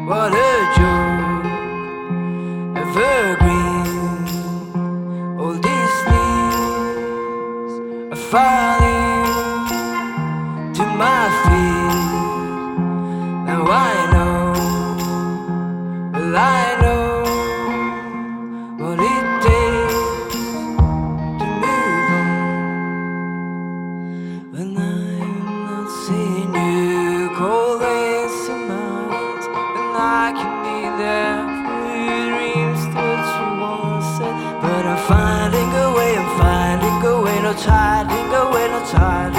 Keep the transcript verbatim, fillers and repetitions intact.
What a joke, evergreen. All these leaves are falling to my feet. Now I know, well I know what it takes to move on. When I'm not seeing you, cold as summers, and I can be there for your dreams that you once said. But I'm finding a way, I'm finding a way, no hiding away, no hiding.